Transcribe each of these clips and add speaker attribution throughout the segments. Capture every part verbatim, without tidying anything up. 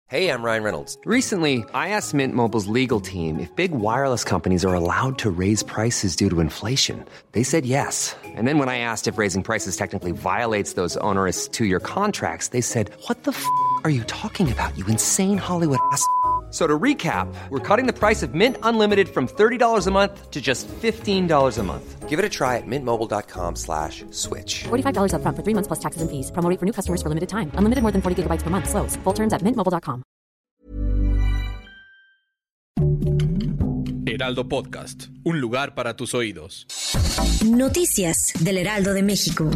Speaker 1: Hey, I'm Ryan Reynolds.
Speaker 2: Recently, I asked Mint Mobile's legal team if big wireless companies are allowed to raise prices due to inflation. They said yes. And then when I asked if raising prices technically violates those onerous two-year contracts, they said, what the f*** are you talking about, you insane Hollywood ass f- So to recap, we're cutting the price of Mint Unlimited from thirty dollars a month to just fifteen dollars a month.
Speaker 1: Give it a try at mintmobile.com slash switch.
Speaker 3: forty-five dollars up front for three months plus taxes and fees. Promo rate for new customers for limited time. Unlimited more than forty gigabytes per month. Slows full terms at mint mobile dot com.
Speaker 4: Heraldo Podcast, un lugar para tus oídos.
Speaker 5: Noticias del Heraldo de México.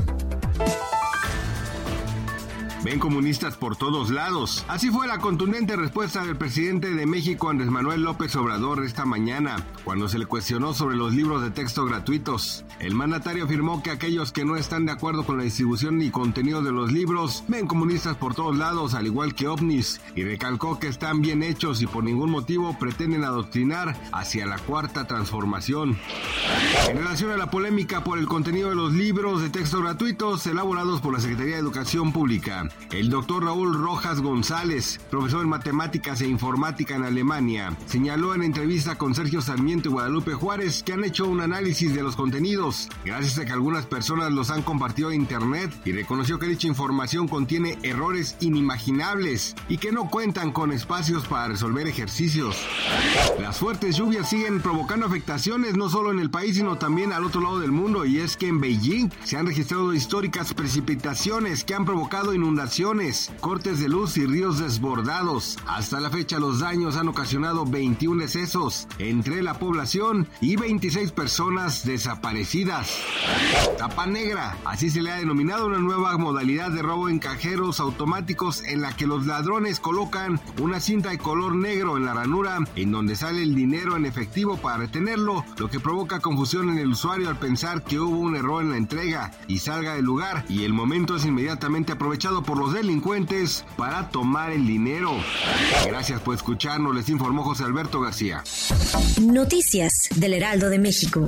Speaker 6: Ven comunistas por todos lados. Así fue la contundente respuesta del presidente de México, Andrés Manuel López Obrador, esta mañana, cuando se le cuestionó sobre los libros de texto gratuitos. El mandatario afirmó que aquellos que no están de acuerdo con la distribución y contenido de los libros ven comunistas por todos lados, al igual que ovnis, y recalcó que están bien hechos y por ningún motivo pretenden adoctrinar hacia la cuarta transformación. En relación a la polémica por el contenido de los libros de texto gratuitos elaborados por la Secretaría de Educación Pública, el doctor Raúl Rojas González, profesor en matemáticas e informática en Alemania, señaló en entrevista con Sergio Sarmiento y Guadalupe Juárez que han hecho un análisis de los contenidos, gracias a que algunas personas los han compartido en internet, y reconoció que dicha información contiene errores inimaginables y que no cuentan con espacios para resolver ejercicios. Las fuertes lluvias siguen provocando afectaciones no solo en el país sino también al otro lado del mundo, y es que en Beijing se han registrado históricas precipitaciones que han provocado inundaciones, cortes de luz y ríos desbordados. Hasta la fecha los daños han ocasionado veintiún decesos entre la población y veintiséis personas desaparecidas. Tapa negra, así se le ha denominado una nueva modalidad de robo en cajeros automáticos en la que los ladrones colocan una cinta de color negro en la ranura en donde sale el dinero en efectivo para retenerlo, lo que provoca confusión en el usuario al pensar que hubo un error en la entrega y salga del lugar, y el momento es inmediatamente aprovechado por los delincuentes para tomar el dinero. Gracias por escucharnos, les informó José Alberto García.
Speaker 5: Noticias del Heraldo de México.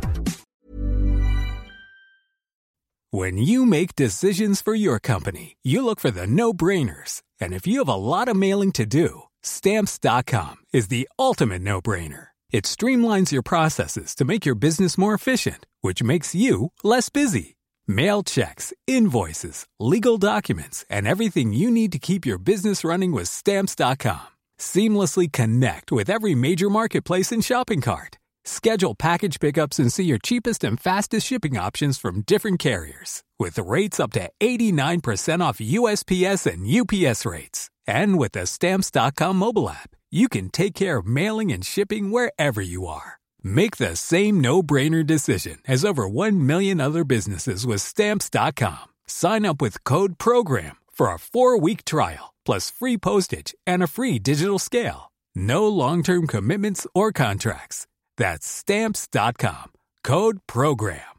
Speaker 7: When you make decisions for your company, you look for the no-brainers. And if you have a lot of mailing to do, Stamps dot com is the ultimate no-brainer. It streamlines your processes to make your business more efficient, which makes you less busy. Mail checks, invoices, legal documents, and everything you need to keep your business running with Stamps dot com. Seamlessly connect with every major marketplace and shopping cart. Schedule package pickups and see your cheapest and fastest shipping options from different carriers, with rates up to eighty-nine percent off U S P S and U P S rates. And with the Stamps dot com mobile app, you can take care of mailing and shipping wherever you are. Make the same no-brainer decision as over one million other businesses with Stamps dot com. Sign up with code PROGRAM for a four-week trial, plus free postage and a free digital scale. No long-term commitments or contracts. That's Stamps dot com. Code PROGRAM.